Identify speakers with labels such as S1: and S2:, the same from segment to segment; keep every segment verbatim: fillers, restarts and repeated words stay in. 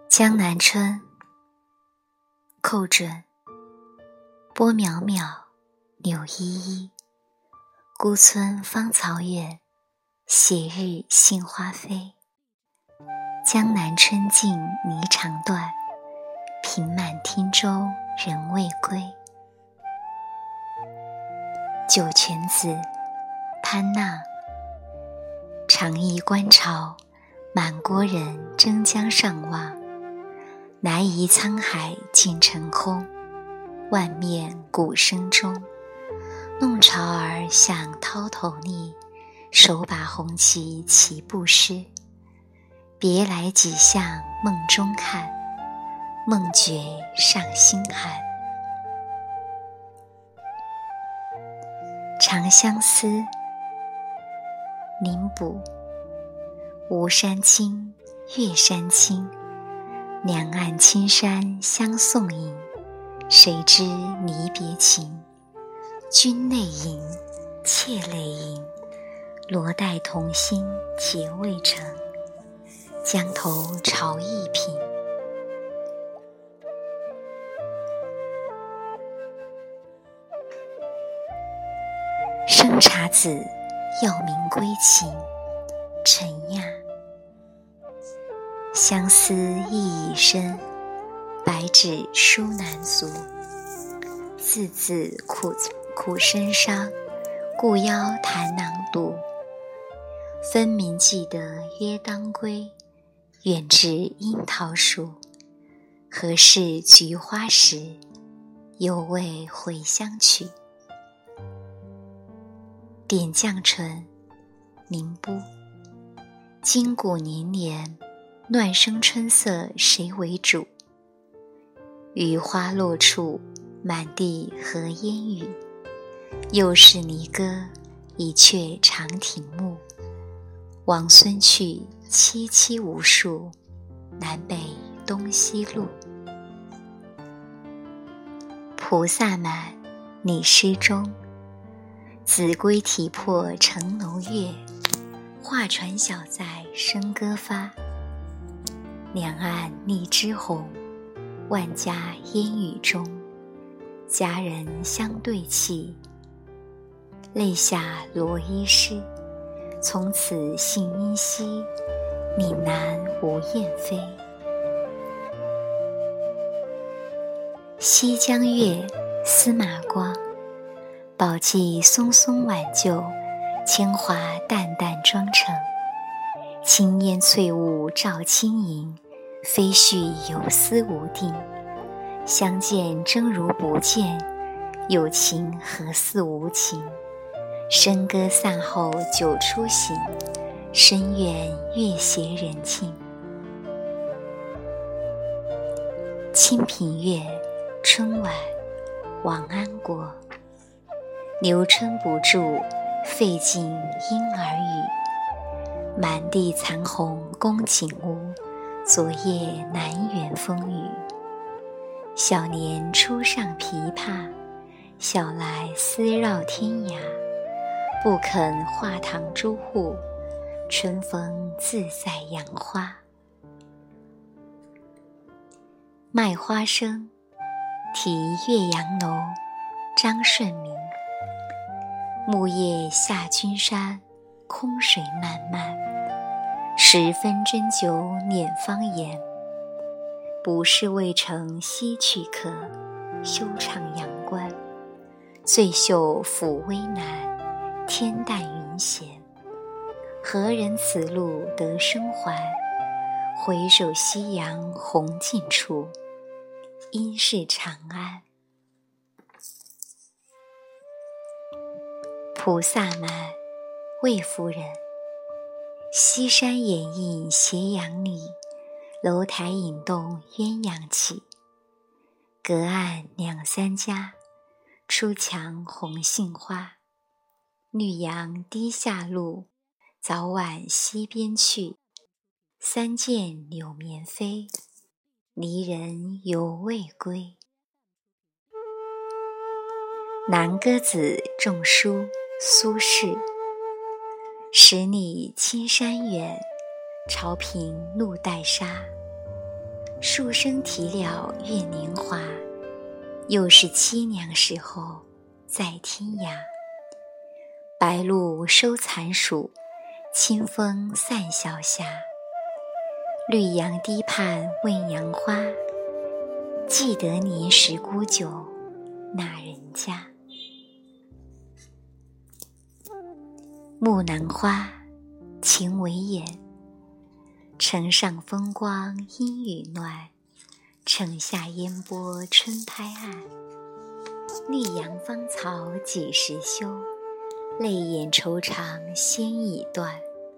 S1: 江南春，寇准。波渺渺，柳依依。孤村芳草远，斜日杏花飞。江南春尽霓裳断，平满汀洲人未归。酒泉子，潘娜。长掖观潮，满郭人争江上望。南夷沧海尽成空，万面鼓声中。弄潮儿向涛头逆，手把红旗齐步诗。别来几向梦中看，梦觉上心寒。长相思，林补。吴山青，岳山青。两岸青山相送迎，谁知离别情。君泪盈，妾泪盈，罗带同心结未成。江头潮意平。生查子，要名归秦。陈亚。相思意已深，白纸书难足。字字苦苦生伤，故邀弹囊读。分明记得约当归，远至樱桃树。何事菊花时，犹为回乡曲。点绛唇，宁波。今古年年，乱生春色谁为主？雨花落处，满地何烟雨。又是离歌，一阙长亭暮。王孙去，萋萋无数，南北东西路。菩萨蛮，拟诗中。子规啼破城楼月，画船小载笙歌发。两岸荔枝红，万家烟雨中。佳人相对泣，泪下罗衣湿。从此信因稀，岭南无雁飞。西江月，司马光。宝髻松松挽救，铅华淡淡妆成。青烟翠雾照轻盈，飞絮有丝无定。相见真如不见，有情何似无情。笙歌散后酒初醒，深院月斜人静。清平乐，春晚，王安国。留春不住，费尽莺儿语。满地残红宫锦屋，昨夜南园风雨。小年初上琵琶，小来丝绕天涯。不肯画堂朱户，春风自在杨花。卖花生，题岳阳楼，张顺明。木叶下君山，空水漫漫。十分斟酒捻芳颜，不是渭城西去客，休唱阳关。醉袖抚微南，天淡云闲。何人此路得生还？回首夕阳红尽处，应是长安。菩萨蛮，魏夫人。西山掩映斜阳里，楼台引动鸳鸯起。隔岸两三家，出墙红杏花。绿杨低下路，早晚西边去。三件柳绵飞，离人犹未归。南歌子，仲舒，苏轼。十里青山远，潮平路带沙。 树声啼了月年华，又是凄凉时候在天涯。白露收残暑，清风散晓霞。绿杨堤畔问杨花，记得年时沽酒那人家。木兰花，情为眼。城上风光阴雨暖，城下烟波春拍岸。绿杨芳草几时休？泪眼愁肠先已断。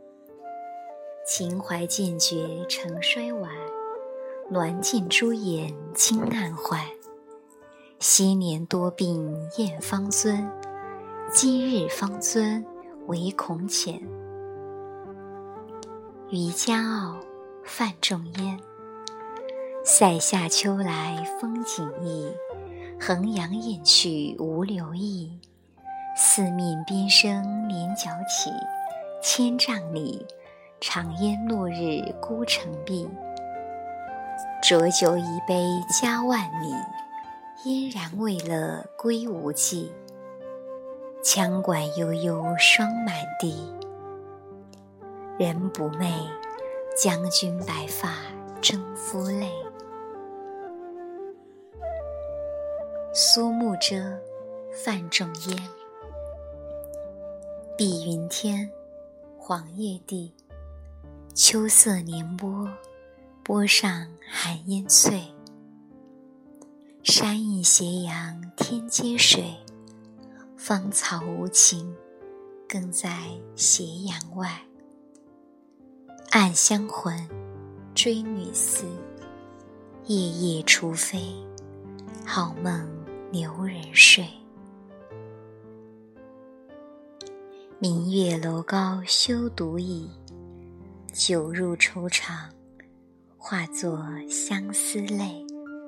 S1: 情怀渐绝成衰晚，鸾镜朱颜惊暗换。昔年多病燕方尊，今日方尊唯恐浅。渔家傲，泛众烟。塞下秋来风景异，衡阳雁去无留意。四面边声连角起，千丈里，长烟落日孤城闭。浊酒一杯家万里，嫣然未勒归无计。羌管悠悠霜满地，人不寐，将军白发征夫泪。苏幕遮，泛众烟。碧云天，黄叶地，秋色年波，波上寒烟碎。山映斜阳天接水，芳草无情，更在斜阳外。暗香魂，追女思，夜夜雏飞，好梦留人睡。明月楼高休独倚，酒入愁肠，化作相思泪。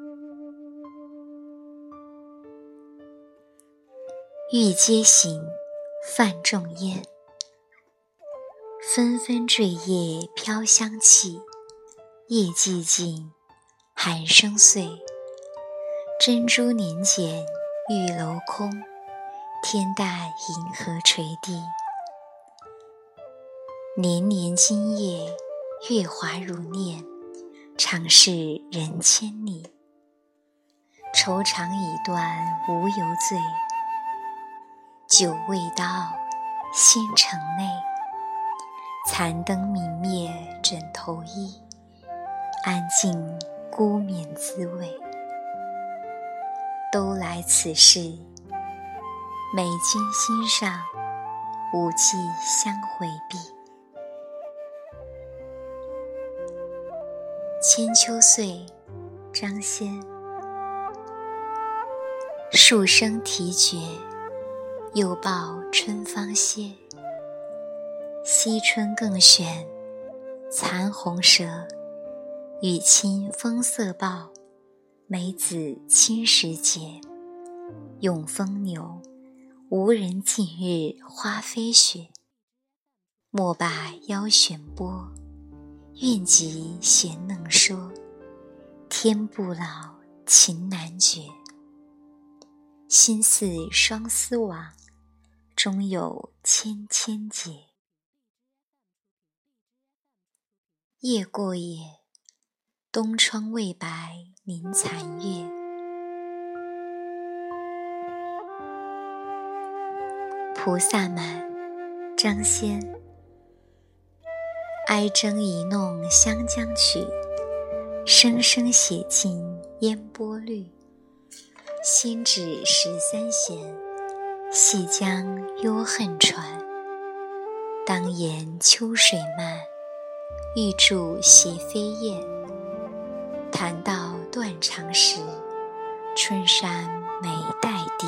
S1: 玉阶行，泛众烟。纷纷坠叶飘香气，夜寂静，寒声碎。珍珠年减玉楼空，天淡银河垂地。年年今夜，月华如念，常是人千里。愁肠已断无由醉，酒未到仙城内。残灯明灭枕头衣，安静孤眠滋味。都来此事，美君心上，无计相回避。千秋岁，张先。树声啼绝，又报春芳歇。惜春更选，残红蛇。雨清风色报，梅子青时节。永丰牛，无人近日花飞雪。莫把腰弦拨，愿及弦能说。天不老，情难绝。心似双丝网，终有千千结。夜过也，东窗未白明残月。菩萨蛮，张先。哀筝一弄湘江曲，声声写尽烟波绿。先指十三弦，细将幽恨传。当言秋水漫，欲著斜飞燕。弹到断肠时，春山梅带低。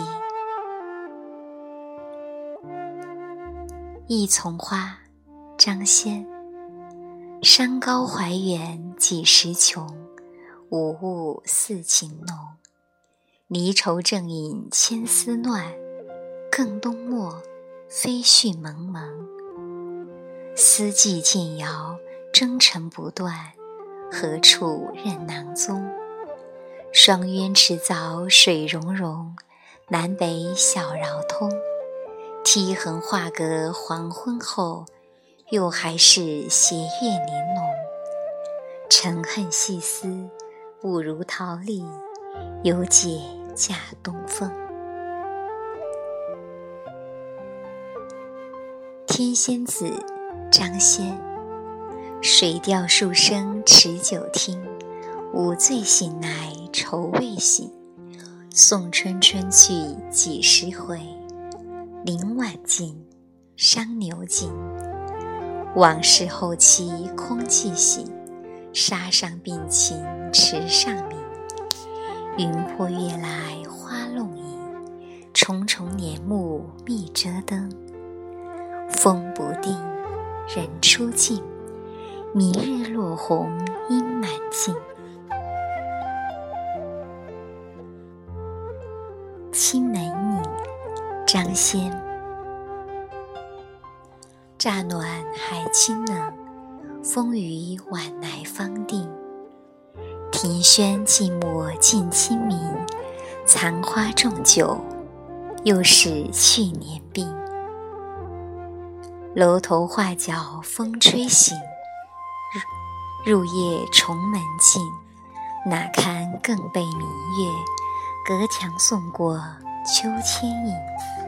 S1: 一丛花，张先。山高怀远几时穷，无物似情浓。离愁正饮千丝乱，更冬末飞絮蒙蒙。思寄渐遥，征程不断， 何处任囊踪？双渊池早水溶溶，南北小绕通。梯横画阁黄昏后，又还是斜月玲珑。沉恨细思，误如桃李，犹解驾东风。天仙子，张先。水调数声持久听，午醉醒来愁未醒。送春春去几时回？林晚尽，伤牛尽。往事后期空记醒，沙上并琴池上鸣。云破月来花弄影，重重帘幕密遮灯。风不定，人初静，明日落红阴满径。青门影，张先。乍暖还清冷，风雨晚来方定。庭轩寂寞近清明，残花重酒，又是去年病。楼头画角风吹醒，入夜重门静。哪堪更被明月，隔墙送过秋千影。